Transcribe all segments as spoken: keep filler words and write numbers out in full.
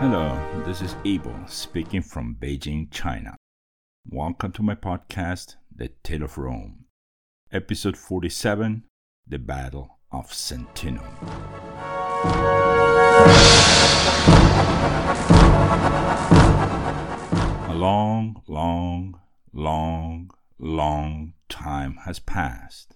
Hello, this is Abel speaking from Beijing, China. Welcome to my podcast, The Tale of Rome, episode forty-seven, The Battle of Sentinum. A long, long, long, long time has passed.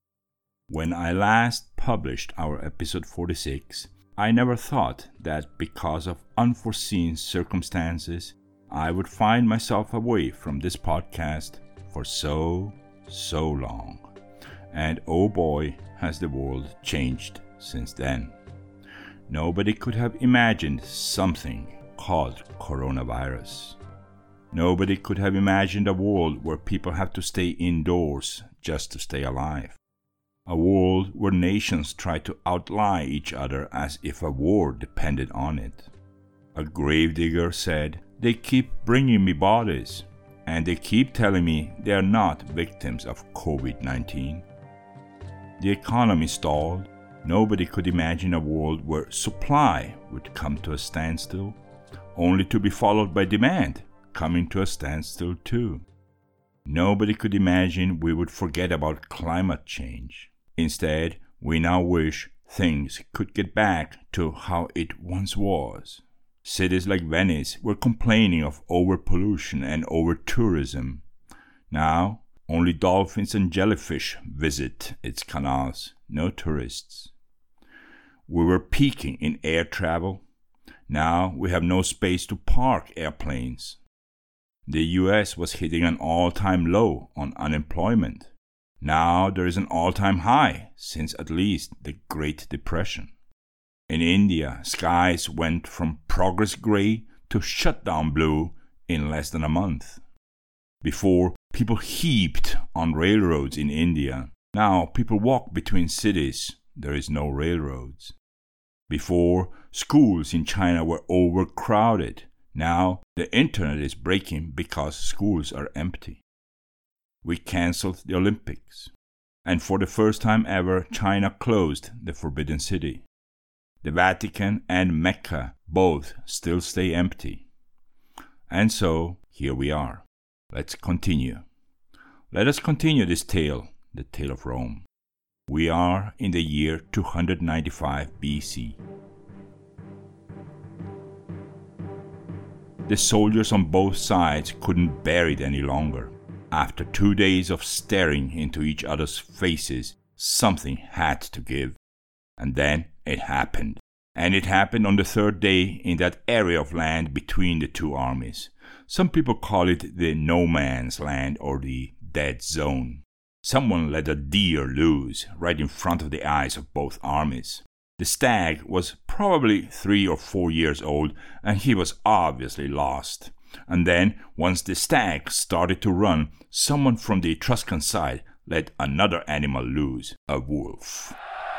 When I last published our episode forty-six, I never thought that because of unforeseen circumstances, I would find myself away from this podcast for so, so long. And oh boy, has the world changed since then. Nobody could have imagined something called coronavirus. Nobody could have imagined a world where people have to stay indoors just to stay alive. A world where nations try to outlie each other as if a war depended on it. A gravedigger said, "They keep bringing me bodies, and they keep telling me they are not victims of covid nineteen. The economy stalled. Nobody could imagine a world where supply would come to a standstill, only to be followed by demand coming to a standstill too. Nobody could imagine we would forget about climate change. Instead, we now wish things could get back to how it once was. Cities like Venice were complaining of overpollution and over-tourism. Now, only dolphins and jellyfish visit its canals, no tourists. We were peaking in air travel. Now we have no space to park airplanes. The U S was hitting an all-time low on unemployment. Now there is an all-time high since at least the Great Depression. In India, skies went from progress gray to shutdown blue in less than a month. Before, people heaped on railroads in India. Now people walk between cities. There is no railroads. Before, schools in China were overcrowded. Now the internet is breaking because schools are empty. We cancelled the Olympics, and for the first time ever, China closed the Forbidden City. The Vatican and Mecca both still stay empty. And so, here we are. Let's continue. Let us continue this tale, the tale of Rome. We are in the year two hundred ninety-five B C. The soldiers on both sides couldn't bear it any longer. After two days of staring into each other's faces, something had to give. And then it happened. And it happened on the third day in that area of land between the two armies. Some people call it the no man's land or the dead zone. Someone let a deer loose right in front of the eyes of both armies. The stag was probably three or four years old, and he was obviously lost. And then, once the stag started to run, someone from the Etruscan side let another animal loose, a wolf.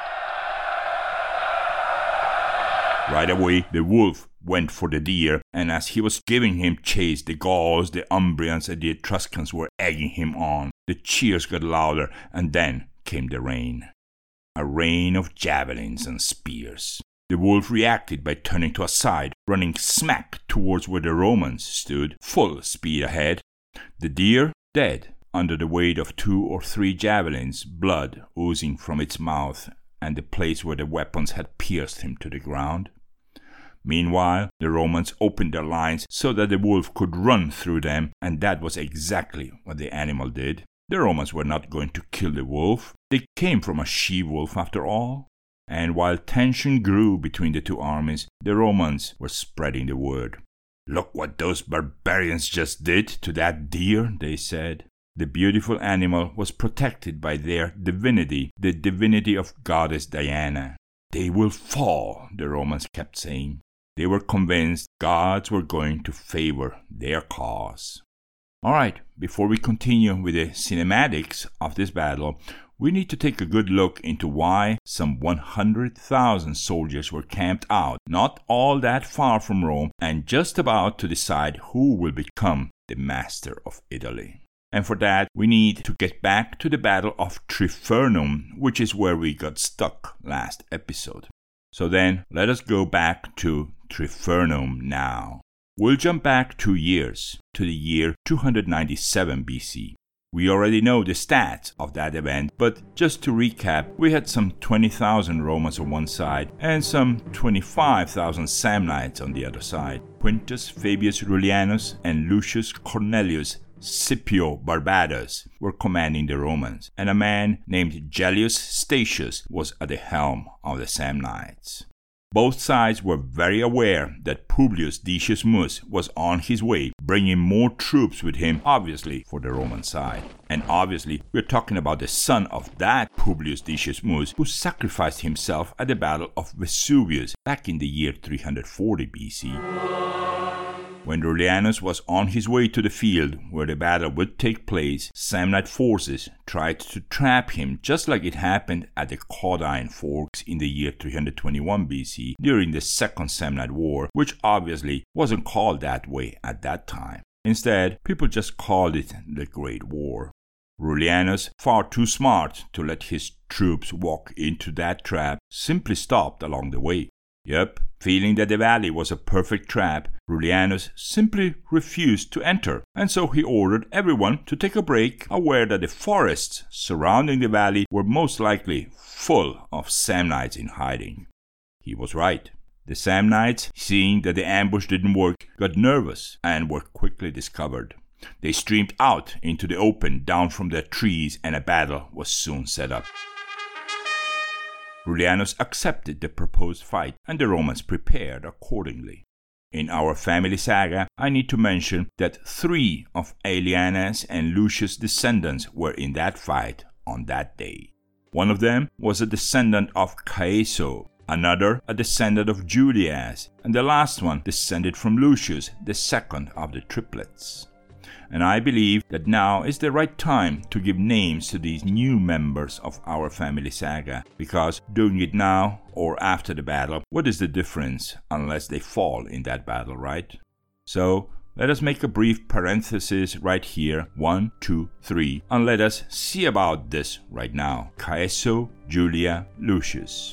Right away, the wolf went for the deer, and as he was giving him chase, the Gauls, the Umbrians, and the Etruscans were egging him on. The cheers got louder, and then came the rain. A rain of javelins and spears. The wolf reacted by turning to a side, running smack towards where the Romans stood, full speed ahead. The deer, dead, under the weight of two or three javelins, blood oozing from its mouth and the place where the weapons had pierced him to the ground. Meanwhile, the Romans opened their lines so that the wolf could run through them, and that was exactly what the animal did. The Romans were not going to kill the wolf. They came from a she-wolf after all. And while tension grew between the two armies, the Romans were spreading the word. "Look what those barbarians just did to that deer," they said. The beautiful animal was protected by their divinity, the divinity of goddess Diana. "They will fall," the Romans kept saying. They were convinced gods were going to favor their cause. All right, before we continue with the cinematics of this battle, we need to take a good look into why some one hundred thousand soldiers were camped out, not all that far from Rome, and just about to decide who will become the master of Italy. And for that, we need to get back to the Battle of Trifernum, which is where we got stuck last episode. So then, let us go back to Trifernum now. We'll jump back two years, to the year two hundred ninety-seven B C. We already know the stats of that event, but just to recap, we had some twenty thousand Romans on one side and some twenty-five thousand Samnites on the other side. Quintus Fabius Rullianus and Lucius Cornelius Scipio Barbatus were commanding the Romans, and a man named Gellius Statius was at the helm of the Samnites. Both sides were very aware that Publius Decius Mus was on his way, bringing more troops with him, obviously for the Roman side. And obviously, we're talking about the son of that Publius Decius Mus, who sacrificed himself at the Battle of Vesuvius back in the year three hundred forty B C. When Rullianus was on his way to the field where the battle would take place, Samnite forces tried to trap him just like it happened at the Caudine Forks in the year three hundred twenty-one B C during the Second Samnite War, which obviously wasn't called that way at that time. Instead, people just called it the Great War. Rullianus, far too smart to let his troops walk into that trap, simply stopped along the way. Yep, feeling that the valley was a perfect trap, Rullianus simply refused to enter, and so he ordered everyone to take a break, aware that the forests surrounding the valley were most likely full of Samnites in hiding. He was right. The Samnites, seeing that the ambush didn't work, got nervous and were quickly discovered. They streamed out into the open down from their trees, and a battle was soon set up. Rullianus accepted the proposed fight, and the Romans prepared accordingly. In our family saga, I need to mention that three of Aeliana's and Lucius' descendants were in that fight on that day. One of them was a descendant of Caeso, another a descendant of Julias, and the last one descended from Lucius, the second of the triplets. And I believe that now is the right time to give names to these new members of our family saga, because doing it now or after the battle, what is the difference unless they fall in that battle, right? So, let us make a brief parenthesis right here, one, two, three, and let us see about this right now. Caeso, Julia, Lucius.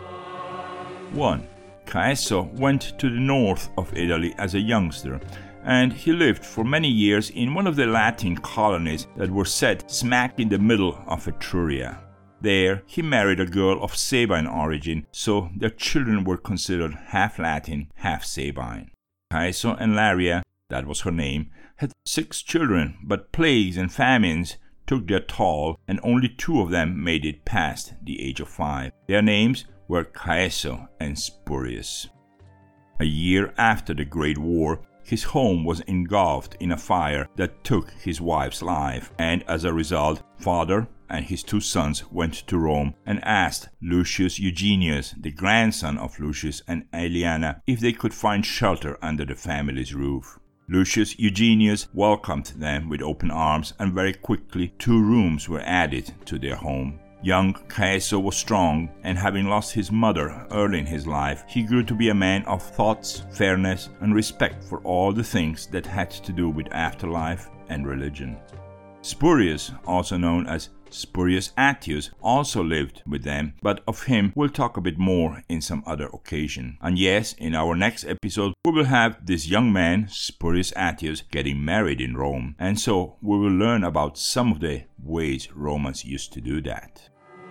one. Caeso went to the north of Italy as a youngster, and he lived for many years in one of the Latin colonies that were set smack in the middle of Etruria. There, he married a girl of Sabine origin, so their children were considered half Latin, half Sabine. Caeso and Laria, that was her name, had six children, but plagues and famines took their toll, and only two of them made it past the age of five. Their names were Caeso and Spurius. A year after the Great War, his home was engulfed in a fire that took his wife's life, and as a result, father and his two sons went to Rome and asked Lucius Eugenius, the grandson of Lucius and Aeliana, if they could find shelter under the family's roof. Lucius Eugenius welcomed them with open arms, and very quickly two rooms were added to their home. Young Caeso was strong, and having lost his mother early in his life, he grew to be a man of thoughts, fairness, and respect for all the things that had to do with afterlife and religion. Spurius, also known as Spurius Attius, also lived with them, but of him we'll talk a bit more in some other occasion. And yes, in our next episode we will have this young man, Spurius Attius, getting married in Rome, and so we will learn about some of the ways Romans used to do that.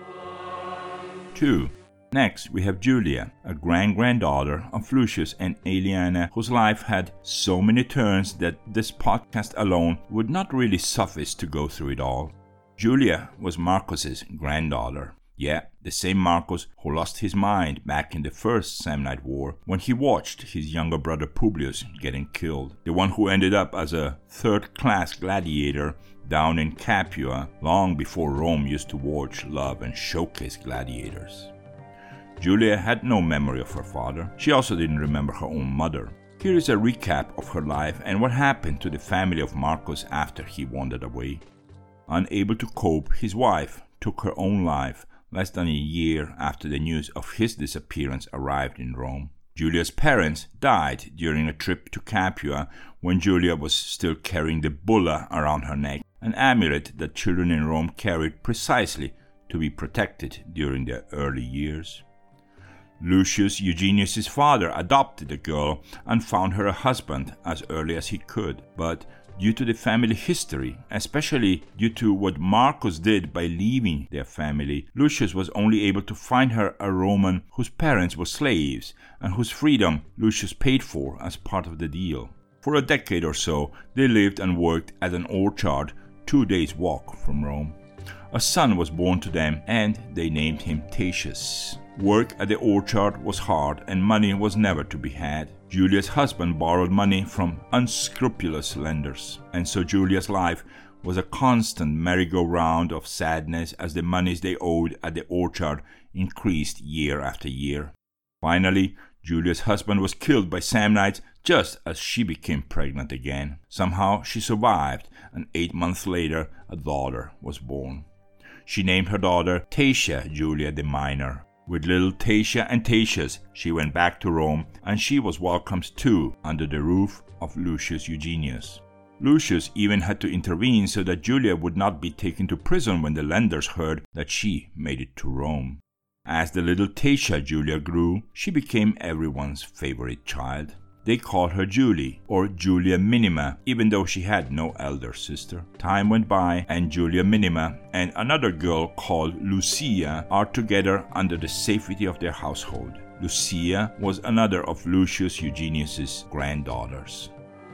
two. Next, we have Julia, a grand-granddaughter of Lucius and Aeliana, whose life had so many turns that this podcast alone would not really suffice to go through it all. Julia was Marcus's granddaughter. Yeah, the same Marcus who lost his mind back in the First Samnite War when he watched his younger brother Publius getting killed. The one who ended up as a third-class gladiator down in Capua long before Rome used to watch, love, and showcase gladiators. Julia had no memory of her father. She also didn't remember her own mother. Here is a recap of her life and what happened to the family of Marcus after he wandered away. Unable to cope, his wife took her own life less than a year after the news of his disappearance arrived in Rome. Julia's parents died during a trip to Capua when Julia was still carrying the bulla around her neck, an amulet that children in Rome carried precisely to be protected during their early years. Lucius Eugenius' father adopted the girl and found her a husband as early as he could, but due to the family history, especially due to what Marcus did by leaving their family, Lucius was only able to find her a Roman whose parents were slaves and whose freedom Lucius paid for as part of the deal. For a decade or so, they lived and worked at an orchard two days' walk from Rome. A son was born to them and they named him Tatius. Work at the orchard was hard and money was never to be had. Julia's husband borrowed money from unscrupulous lenders, and so Julia's life was a constant merry-go-round of sadness as the monies they owed at the orchard increased year after year. Finally, Julia's husband was killed by Samnites just as she became pregnant again. Somehow she survived, and eight months later a daughter was born. She named her daughter Tatia Julia the Minor. With little Tatia and Tatius, she went back to Rome, and she was welcomed too under the roof of Lucius Eugenius. Lucius even had to intervene so that Julia would not be taken to prison when the lenders heard that she made it to Rome. As the little Tatia Julia grew, she became everyone's favorite child. They called her Julie, or Julia Minima, even though she had no elder sister. Time went by, and Julia Minima and another girl called Lucia are together under the safety of their household. Lucia was another of Lucius Eugenius' granddaughters.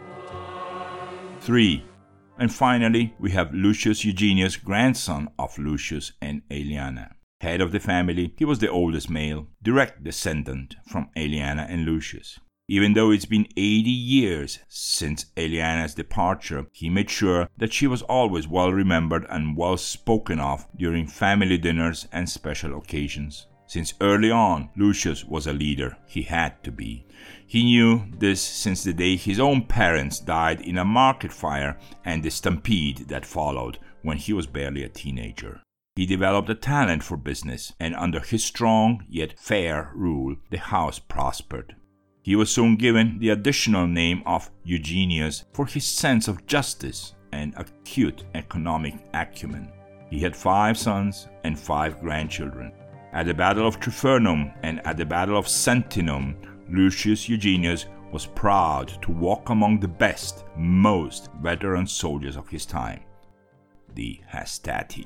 three. And finally, we have Lucius Eugenius, grandson of Lucius and Aeliana. Head of the family, he was the oldest male, direct descendant from Aeliana and Lucius. Even though it's been eighty years since Aeliana's departure, he made sure that she was always well remembered and well spoken of during family dinners and special occasions. Since early on, Lucius was a leader. He had to be. He knew this since the day his own parents died in a market fire and the stampede that followed when he was barely a teenager. He developed a talent for business, and under his strong yet fair rule, the house prospered. He was soon given the additional name of Eugenius for his sense of justice and acute economic acumen. He had five sons and five grandchildren. At the Battle of Tryphernum and at the Battle of Sentinum, Lucius Eugenius was proud to walk among the best, most veteran soldiers of his time, the Hastati.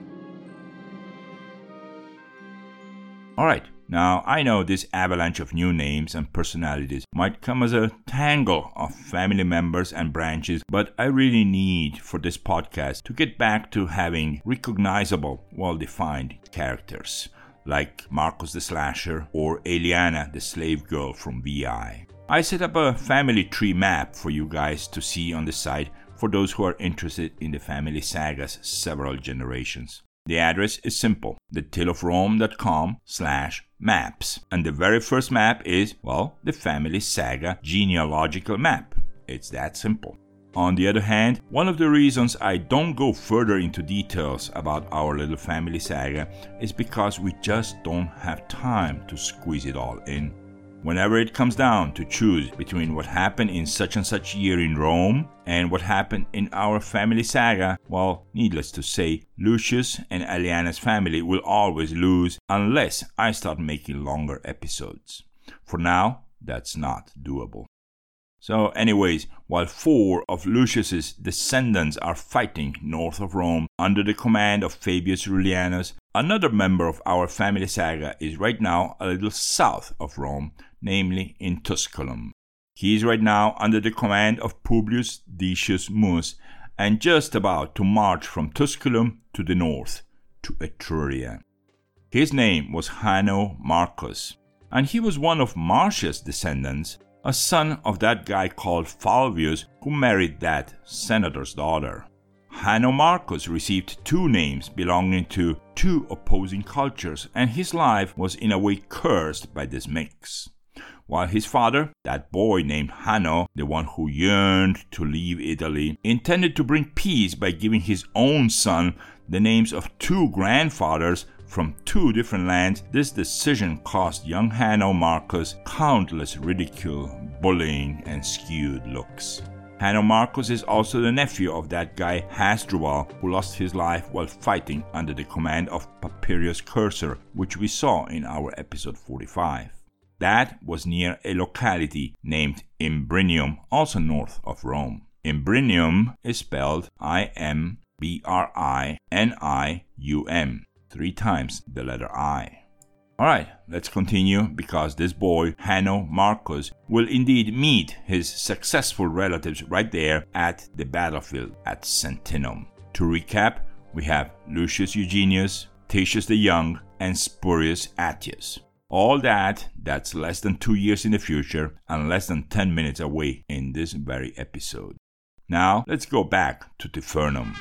Alright, now I know this avalanche of new names and personalities might come as a tangle of family members and branches, but I really need for this podcast to get back to having recognizable, well-defined characters, like Marcus the Slasher or Aeliana the slave girl from V I. I set up a family tree map for you guys to see on the site for those who are interested in the family saga's several generations. The address is simple, thetaleofrome.com slash maps. And the very first map is, well, the family saga genealogical map. It's that simple. On the other hand, one of the reasons I don't go further into details about our little family saga is because we just don't have time to squeeze it all in. Whenever it comes down to choose between what happened in such and such year in Rome and what happened in our family saga, well, needless to say, Lucius and Aeliana's family will always lose unless I start making longer episodes. For now, that's not doable. So anyways, while four of Lucius's descendants are fighting north of Rome under the command of Fabius Rullianus, another member of our family saga is right now a little south of Rome, namely in Tusculum. He is right now under the command of Publius Decius Mus and just about to march from Tusculum to the north, to Etruria. His name was Hanno Marcus, and he was one of Marcia's descendants, a son of that guy called Falvius who married that senator's daughter. Hanno Marcus received two names belonging to two opposing cultures, and his life was in a way cursed by this mix. While his father, that boy named Hanno, the one who yearned to leave Italy, intended to bring peace by giving his own son the names of two grandfathers from two different lands, this decision cost young Hanno Marcus countless ridicule, bullying, and skewed looks. Hanno Marcus is also the nephew of that guy Hasdrubal, who lost his life while fighting under the command of Papirius Cursor, which we saw in our episode forty-five. That was near a locality named Imbrinium, also north of Rome. Imbrinium is spelled I M B R I N I U M, three times the letter I. Alright, let's continue, because this boy, Hanno Marcus, will indeed meet his successful relatives right there at the battlefield at Sentinum. To recap, we have Lucius Eugenius, Tatius the Young, and Spurius Attius. All that, that's less than two years in the future and less than ten minutes away in this very episode. Now, let's go back to Tifernum.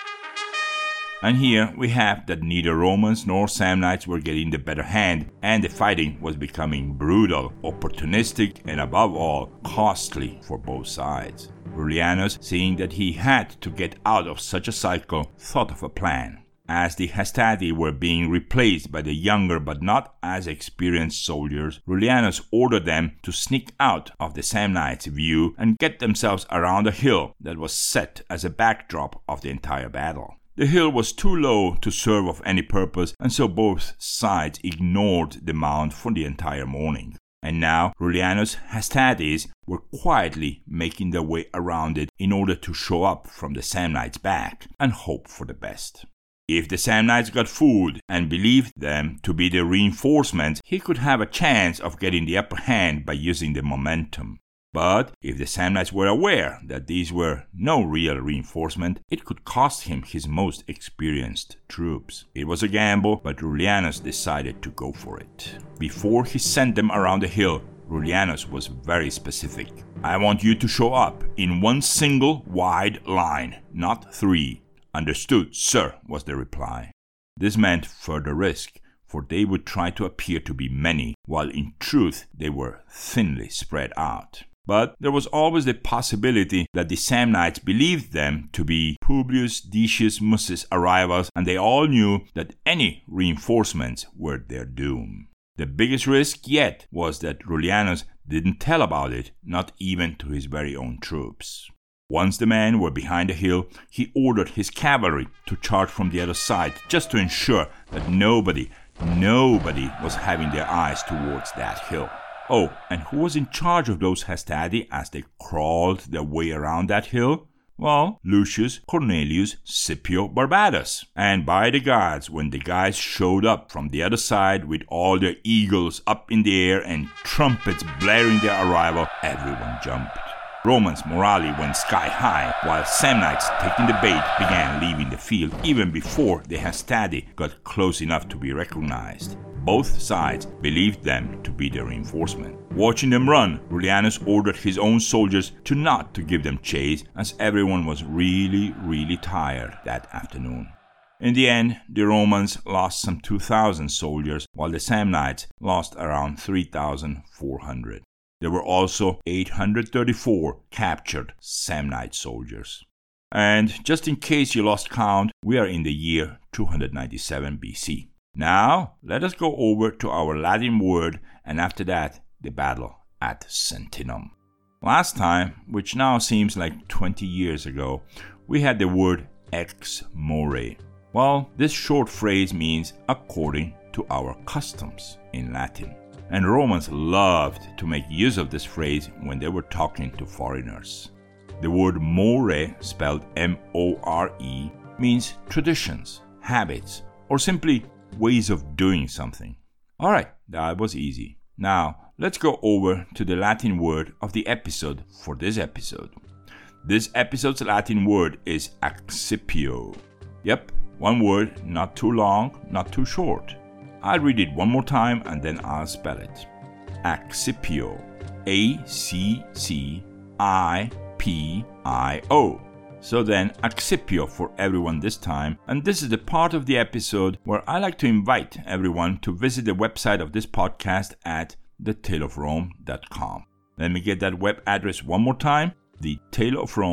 And here we have that neither Romans nor Samnites were getting the better hand, and the fighting was becoming brutal, opportunistic, and above all, costly for both sides. Rullianus, seeing that he had to get out of such a cycle, thought of a plan. As the Hastati were being replaced by the younger but not as experienced soldiers, Rullianus ordered them to sneak out of the Samnites' view and get themselves around a hill that was set as a backdrop of the entire battle. The hill was too low to serve of any purpose, and so both sides ignored the mound for the entire morning. And now Rullianus' Hastates were quietly making their way around it in order to show up from the Samnites' back and hope for the best. If the Samnites got fooled and believed them to be the reinforcements, he could have a chance of getting the upper hand by using the momentum. But if the Samnites were aware that these were no real reinforcement, it could cost him his most experienced troops. It was a gamble, but Rullianus decided to go for it. Before he sent them around the hill, Rullianus was very specific. "I want you to show up in one single wide line, not three." "Understood, sir," was the reply. This meant further risk, for they would try to appear to be many, while in truth they were thinly spread out. But there was always the possibility that the Samnites believed them to be Publius Decius Mus's arrivals, and they all knew that any reinforcements were their doom. The biggest risk yet was that Rullianus didn't tell about it, not even to his very own troops. Once the men were behind the hill, he ordered his cavalry to charge from the other side, just to ensure that nobody, nobody was having their eyes towards that hill. Oh, and who was in charge of those Hastati as they crawled their way around that hill? Well, Lucius Cornelius Scipio Barbatus. And by the gods, when the guys showed up from the other side with all their eagles up in the air and trumpets blaring their arrival, everyone jumped. Romans' morale went sky high, while Samnites, taking the bait, began leaving the field even before the Hastati got close enough to be recognized. Both sides believed them to be the reinforcement. Watching them run, Rullianus ordered his own soldiers to not to give them chase, as everyone was really, really tired that afternoon. In the end, the Romans lost some two thousand soldiers, while the Samnites lost around three thousand four hundred. There were also eight hundred thirty-four captured Samnite soldiers. And just in case you lost count, we are in the year two hundred ninety-seven B C. Now, let us go over to our Latin word, and after that, the battle at Sentinum. Last time, which now seems like twenty years ago, we had the word ex more. Well, this short phrase means according to our customs in Latin. And Romans loved to make use of this phrase when they were talking to foreigners. The word more, spelled M O R E, means traditions, habits, or simply ways of doing something. Alright, that was easy. Now, let's go over to the Latin word of the episode for this episode. This episode's Latin word is accipio. Yep, one word, not too long, not too short. I'll read it one more time and then I'll spell it. Accipio. A C C I P I O. So then, accipio for everyone this time, and this is the part of the episode where I like to invite everyone to visit the website of this podcast at the tale of rome dot com. Let me get that web address one more time, the tale of rome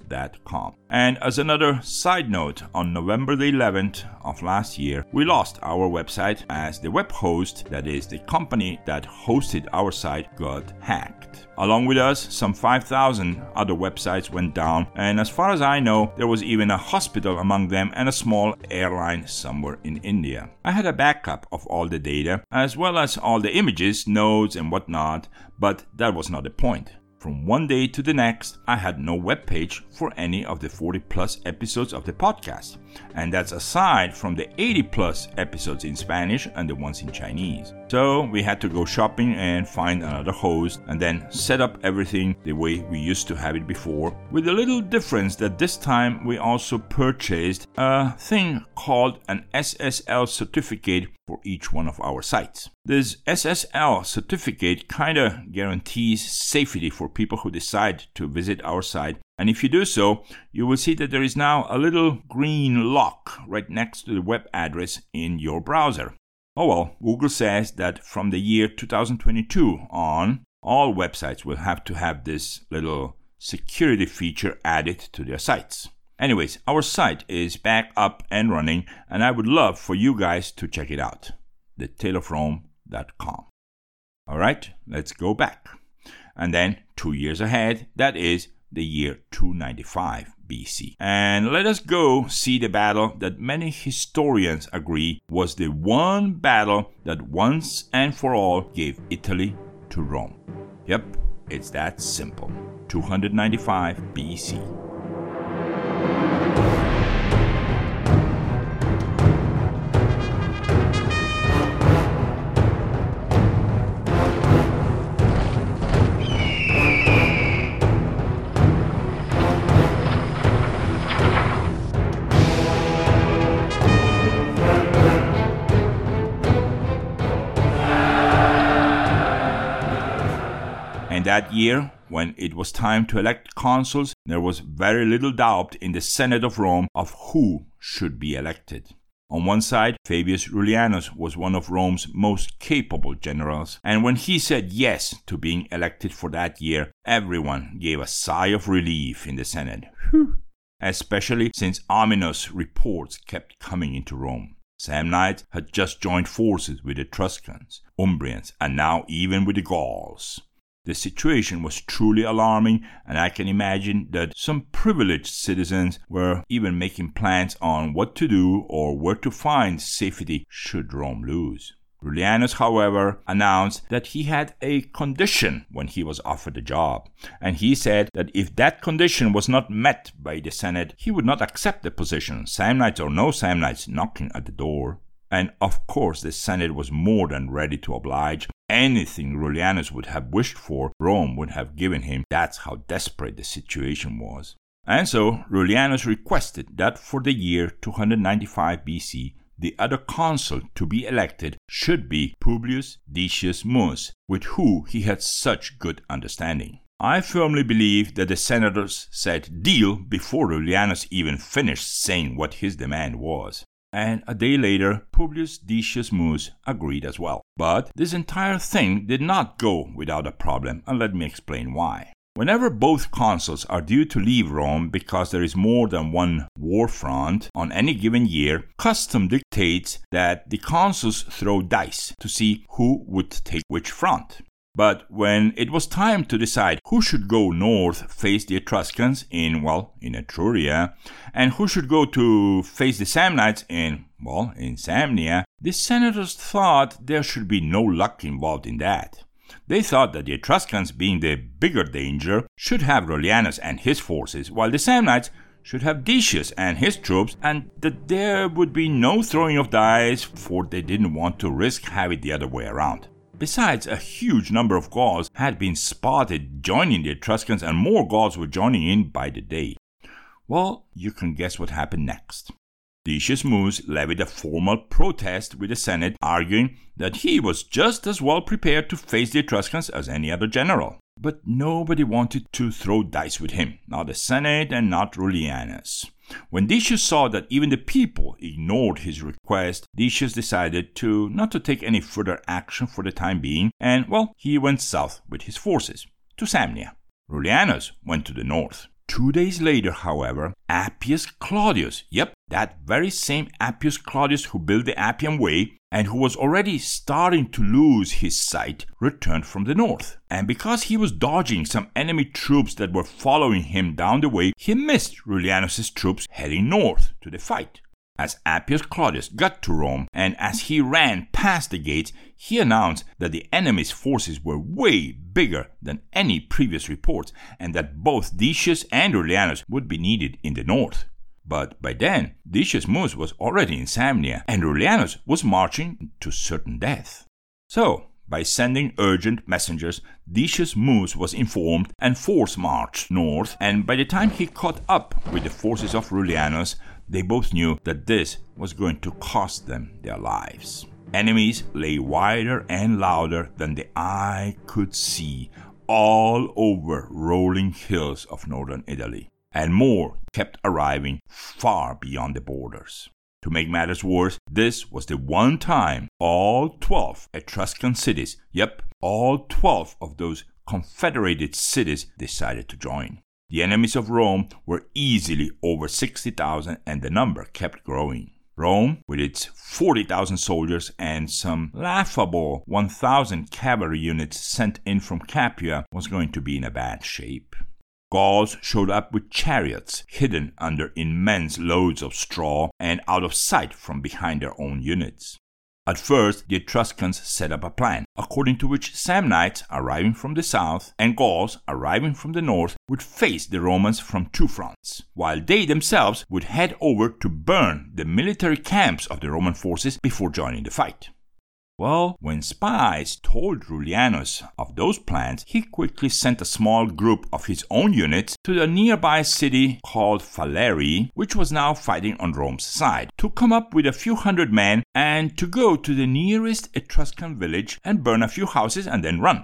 dot com. And as another side note, on November the eleventh of last year, we lost our website as the web host, that is the company that hosted our site, got hacked. Along with us, some five thousand other websites went down, and as far as I know, there was even a hospital among them and a small airline somewhere in India. I had a backup of all the data, as well as all the images, notes, and whatnot, but that was not the point. From one day to the next, I had no web page for any of the forty plus episodes of the podcast. And that's aside from the eighty plus episodes in Spanish and the ones in Chinese. So we had to go shopping and find another host and then set up everything the way we used to have it before, with a little difference that this time we also purchased a thing called an S S L certificate for each one of our sites. This S S L certificate kind of guarantees safety for people who decide to visit our site. And if you do so, you will see that there is now a little green lock right next to the web address in your browser. Oh well, Google says that from the year two thousand twenty-two on, all websites will have to have this little security feature added to their sites. Anyways, our site is back up and running, and I would love for you guys to check it out. the tale of rome dot com. Alright, let's go back. And then two years ahead, that is the year two ninety-five B C. And let us go see the battle that many historians agree was the one battle that once and for all gave Italy to Rome. Yep, it's that simple. two ninety-five B C. And that year, when it was time to elect consuls, there was very little doubt in the Senate of Rome of who should be elected. On one side, Fabius Rullianus was one of Rome's most capable generals, and when he said yes to being elected for that year, everyone gave a sigh of relief in the Senate. Whew. Especially since ominous reports kept coming into Rome. Samnites had just joined forces with the Etruscans, Umbrians, and now even with the Gauls. The situation was truly alarming, and I can imagine that some privileged citizens were even making plans on what to do or where to find safety should Rome lose. Rullianus, however, announced that he had a condition when he was offered the job, and he said that if that condition was not met by the Senate, he would not accept the position, Samnites or no Samnites knocking at the door. And of course the Senate was more than ready to oblige. Anything Rullianus would have wished for, Rome would have given him. That's how desperate the situation was. And so Rullianus requested that for the year two ninety-five B C, the other consul to be elected should be Publius Decius Mus, with whom he had such good understanding. I firmly believe that the senators said deal before Rullianus even finished saying what his demand was. And a day later, Publius Decius Mus agreed as well. But this entire thing did not go without a problem, and let me explain why. Whenever both consuls are due to leave Rome because there is more than one war front on any given year, custom dictates that the consuls throw dice to see who would take which front. But when it was time to decide who should go north face the Etruscans in, well, in Etruria, and who should go to face the Samnites in, well, in Samnia, the senators thought there should be no luck involved in that. They thought that the Etruscans, being the bigger danger, should have Rullianus and his forces, while the Samnites should have Decius and his troops, and that there would be no throwing of dice, for they didn't want to risk having it the other way around. Besides, a huge number of Gauls had been spotted joining the Etruscans, and more Gauls were joining in by the day. Well, you can guess what happened next. Decius Mus levied a formal protest with the Senate, arguing that he was just as well prepared to face the Etruscans as any other general. But nobody wanted to throw dice with him, not the Senate and not Rullianus. When Decius saw that even the people ignored his request, Decius decided to not to take any further action for the time being, and, well, he went south with his forces, to Samnia. Rullianus went to the north, Two days later, however, Appius Claudius, yep, that very same Appius Claudius who built the Appian Way and who was already starting to lose his sight, returned from the north. And because he was dodging some enemy troops that were following him down the way, he missed Rullianus' troops heading north to the fight. As Appius Claudius got to Rome, and as he ran past the gates, he announced that the enemy's forces were way bigger than any previous reports, and that both Decius and Rullianus would be needed in the north. But by then, Decius Mus was already in Samnia, and Rullianus was marching to certain death. So, by sending urgent messengers, Decius Mus was informed and force marched north, and by the time he caught up with the forces of Rullianus, they both knew that this was going to cost them their lives. Enemies lay wider and louder than the eye could see all over rolling hills of northern Italy, and more kept arriving far beyond the borders. To make matters worse, this was the one time all twelve Etruscan cities, yep, all twelve of those confederated cities decided to join. The enemies of Rome were easily over sixty thousand, and the number kept growing. Rome, with its forty thousand soldiers and some laughable one thousand cavalry units sent in from Capua, was going to be in a bad shape. Gauls showed up with chariots hidden under immense loads of straw and out of sight from behind their own units. At first, the Etruscans set up a plan, according to which Samnites arriving from the south and Gauls arriving from the north would face the Romans from two fronts, while they themselves would head over to burn the military camps of the Roman forces before joining the fight. Well, when spies told Rullianus of those plans, he quickly sent a small group of his own units to the nearby city called Falerii, which was now fighting on Rome's side, to come up with a few hundred men and to go to the nearest Etruscan village and burn a few houses and then run.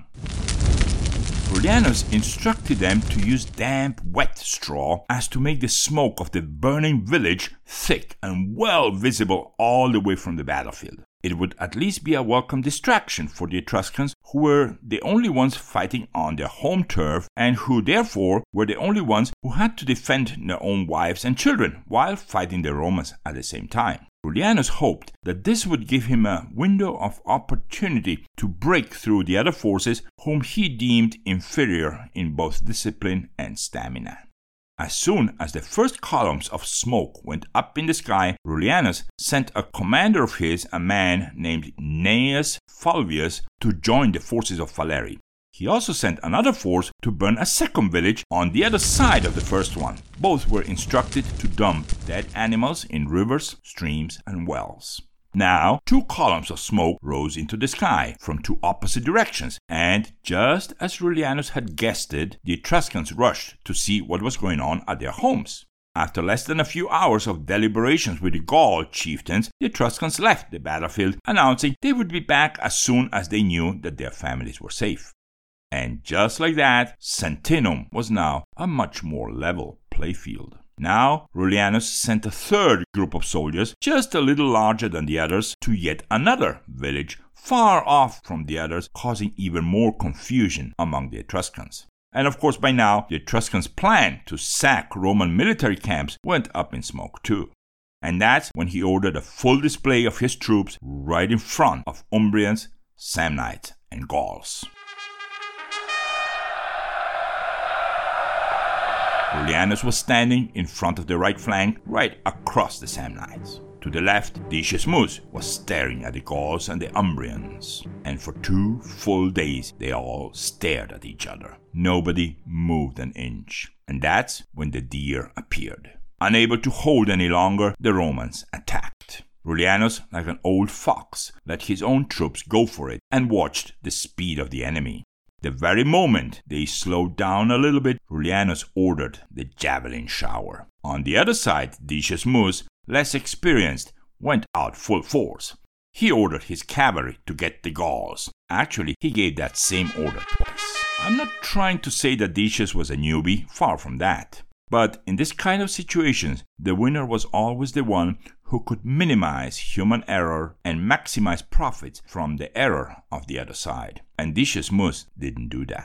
Rullianus instructed them to use damp, wet straw as to make the smoke of the burning village thick and well visible all the way from the battlefield. It would at least be a welcome distraction for the Etruscans, who were the only ones fighting on their home turf and who therefore were the only ones who had to defend their own wives and children while fighting the Romans at the same time. Rullianus hoped that this would give him a window of opportunity to break through the other forces whom he deemed inferior in both discipline and stamina. As soon as the first columns of smoke went up in the sky, Rullianus sent a commander of his, a man named Gnaeus Fulvius, to join the forces of Falerii. He also sent another force to burn a second village on the other side of the first one. Both were instructed to dump dead animals in rivers, streams, and wells. Now, two columns of smoke rose into the sky from two opposite directions, and just as Rullianus had guessed it, the Etruscans rushed to see what was going on at their homes. After less than a few hours of deliberations with the Gaul chieftains, the Etruscans left the battlefield, announcing they would be back as soon as they knew that their families were safe. And just like that, Sentinum was now a much more level playfield. Now, Rullianus sent a third group of soldiers, just a little larger than the others, to yet another village, far off from the others, causing even more confusion among the Etruscans. And of course, by now, the Etruscans' plan to sack Roman military camps went up in smoke too. And that's when he ordered a full display of his troops right in front of Umbrians, Samnites, and Gauls. Rullianus was standing in front of the right flank, right across the Samnites. To the left, Decius Mus was staring at the Gauls and the Umbrians. And for two full days, they all stared at each other. Nobody moved an inch. And that's when the deer appeared. Unable to hold any longer, the Romans attacked. Rullianus, like an old fox, let his own troops go for it and watched the speed of the enemy. The very moment they slowed down a little bit, Rullianus ordered the javelin shower. On the other side, Decius Mus, less experienced, went out full force. He ordered his cavalry to get the Gauls. Actually, he gave that same order twice. I'm not trying to say that Decius was a newbie, far from that. But in this kind of situations, the winner was always the one who could minimize human error and maximize profits from the error of the other side. And Decius Mus didn't do that.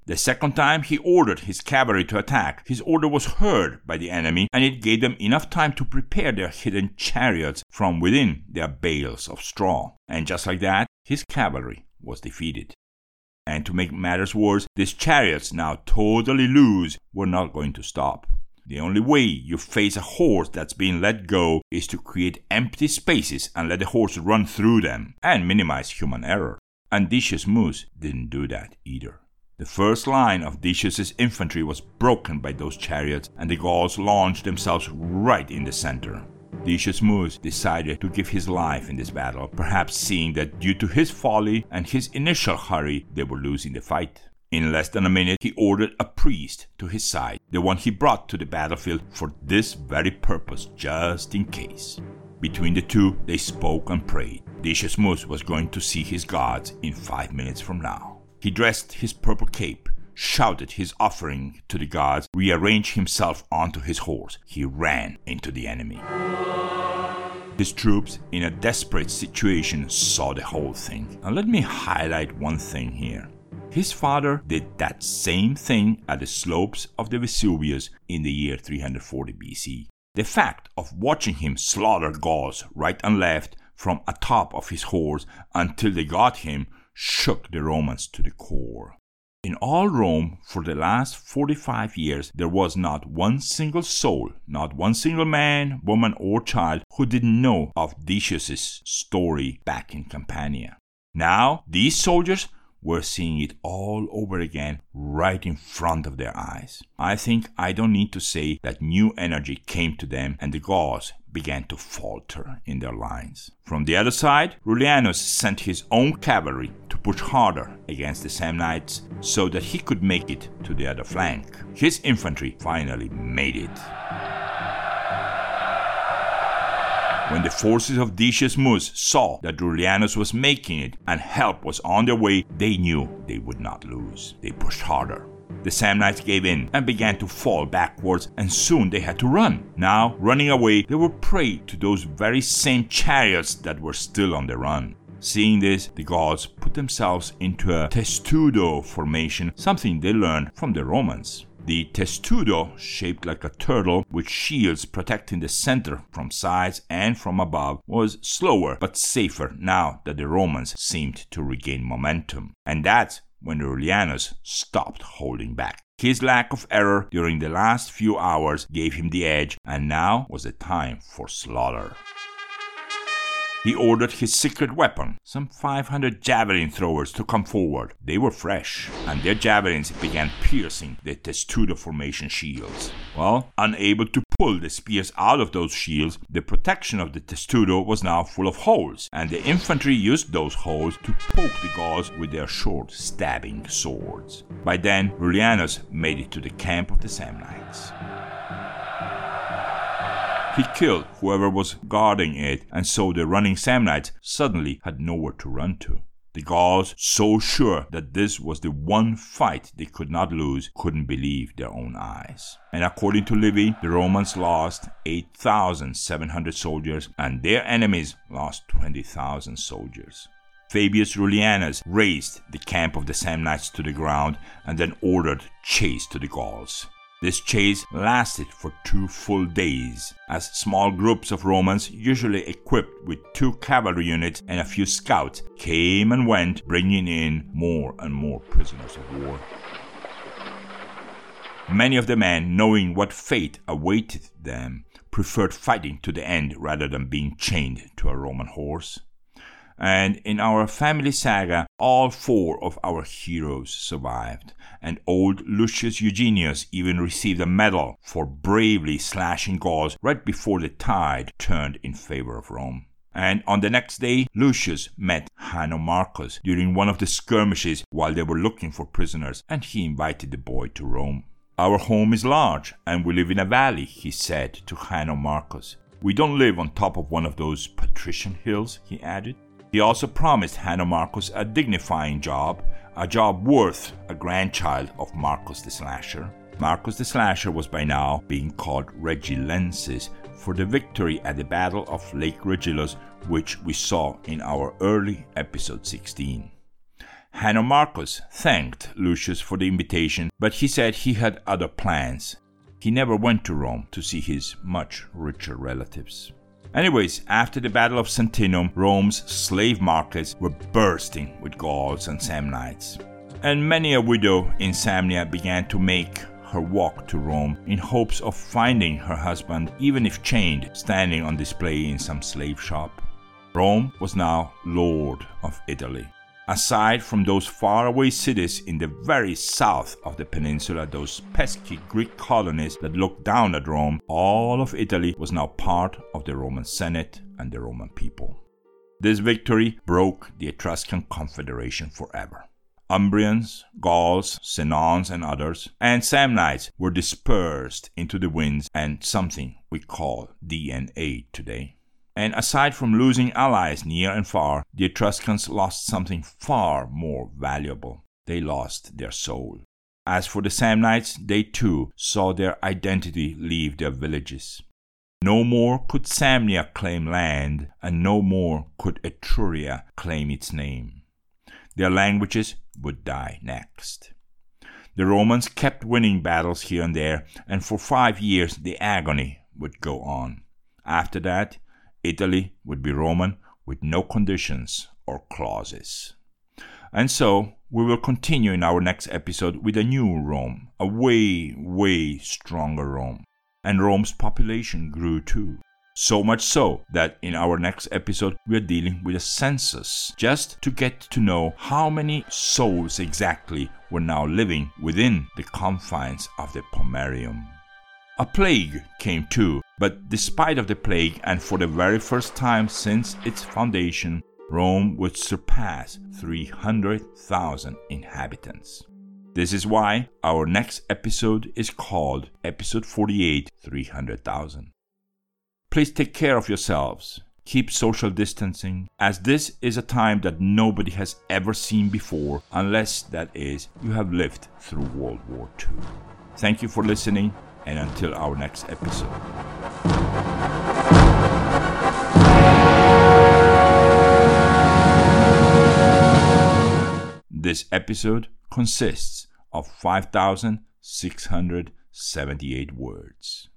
The second time he ordered his cavalry to attack, his order was heard by the enemy, and it gave them enough time to prepare their hidden chariots from within their bales of straw. And just like that, his cavalry was defeated. And to make matters worse, these chariots, now totally loose, were not going to stop. The only way you face a horse that's being let go is to create empty spaces and let the horse run through them and minimize human error. And Decius Mus didn't do that either. The first line of Decius's infantry was broken by those chariots, and the Gauls launched themselves right in the center. Decius Mus decided to give his life in this battle, perhaps seeing that due to his folly and his initial hurry, they were losing the fight. In less than a minute, he ordered a priest to his side, the one he brought to the battlefield for this very purpose, just in case. Between the two, they spoke and prayed. Decius Mus was going to see his gods in five minutes from now. He dressed his purple cape, shouted his offering to the gods, rearranged himself onto his horse. He ran into the enemy. His troops, in a desperate situation, saw the whole thing. Now let me highlight one thing here. His father did that same thing at the slopes of the Vesuvius in the year three hundred forty B C. The fact of watching him slaughter Gauls right and left from atop of his horse until they got him shook the Romans to the core. In all Rome, for the last forty-five years, there was not one single soul, not one single man, woman, or child who didn't know of Decius's story back in Campania. Now, these soldiers were seeing it all over again right in front of their eyes. I think I don't need to say that new energy came to them and the Gauls began to falter in their lines. From the other side, Rullianus sent his own cavalry to push harder against the Samnites so that he could make it to the other flank. His infantry finally made it. When the forces of Decius Mus saw that Rullianus was making it and help was on their way, they knew they would not lose. They pushed harder. The Samnites gave in and began to fall backwards, and soon they had to run. Now, running away, they were prey to those very same chariots that were still on the run. Seeing this, the Gauls put themselves into a testudo formation, something they learned from the Romans. The testudo, shaped like a turtle with shields protecting the center from sides and from above, was slower but safer now that the Romans seemed to regain momentum. And that's when Rullianus stopped holding back. His lack of error during the last few hours gave him the edge, and now was the time for slaughter. He ordered his secret weapon, some five hundred javelin throwers, to come forward. They were fresh, and their javelins began piercing the testudo formation shields. Well, unable to pull the spears out of those shields, the protection of the testudo was now full of holes, and the infantry used those holes to poke the Gauls with their short, stabbing swords. By then, Rullianus made it to the camp of the Samnites. He killed whoever was guarding it, and so the running Samnites suddenly had nowhere to run to. The Gauls, so sure that this was the one fight they could not lose, couldn't believe their own eyes. And according to Livy, the Romans lost eight thousand seven hundred soldiers, and their enemies lost twenty thousand soldiers. Fabius Rullianus razed the camp of the Samnites to the ground and then ordered chase to the Gauls. This chase lasted for two full days, as small groups of Romans, usually equipped with two cavalry units and a few scouts, came and went, bringing in more and more prisoners of war. Many of the men, knowing what fate awaited them, preferred fighting to the end rather than being chained to a Roman horse. And in our family saga, all four of our heroes survived, and old Lucius Eugenius even received a medal for bravely slashing Gauls right before the tide turned in favor of Rome. And on the next day, Lucius met Hanno Marcus during one of the skirmishes while they were looking for prisoners, and he invited the boy to Rome. "Our home is large, and we live in a valley," he said to Hanno Marcus. "We don't live on top of one of those patrician hills," he added. He also promised Hanno Marcus a dignifying job, a job worth a grandchild of Marcus the Slasher. Marcus the Slasher was by now being called Regilensis for the victory at the Battle of Lake Regillus, which we saw in our early episode sixteen. Hanomachus thanked Lucius for the invitation, but he said he had other plans. He never went to Rome to see his much richer relatives. Anyways, after the Battle of Saguntum, Rome's slave markets were bursting with Gauls and Samnites. And many a widow in Samnia began to make her walk to Rome in hopes of finding her husband, even if chained, standing on display in some slave shop. Rome was now Lord of Italy. Aside from those faraway cities in the very south of the peninsula, those pesky Greek colonies that looked down at Rome, all of Italy was now part of the Roman Senate and the Roman people. This victory broke the Etruscan Confederation forever. Umbrians, Gauls, Senons and others, and Samnites were dispersed into the winds and something we call D N A today. And aside from losing allies near and far, the Etruscans lost something far more valuable. They lost their soul. As for the Samnites, they too saw their identity leave their villages. No more could Samnia claim land, and no more could Etruria claim its name. Their languages would die next. The Romans kept winning battles here and there, and for five years the agony would go on. After that, Italy would be Roman with no conditions or clauses. And so, we will continue in our next episode with a new Rome, a way, way stronger Rome. And Rome's population grew too. So much so that in our next episode we are dealing with a census, just to get to know how many souls exactly were now living within the confines of the Pomerium. A plague came too, but despite of the plague, and for the very first time since its foundation, Rome would surpass three hundred thousand inhabitants. This is why our next episode is called Episode forty-eight, three hundred thousand. Please take care of yourselves. Keep social distancing, as this is a time that nobody has ever seen before, unless, that is, you have lived through World War Two. Thank you for listening, and until our next episode. This episode consists of five thousand six hundred seventy-eight words.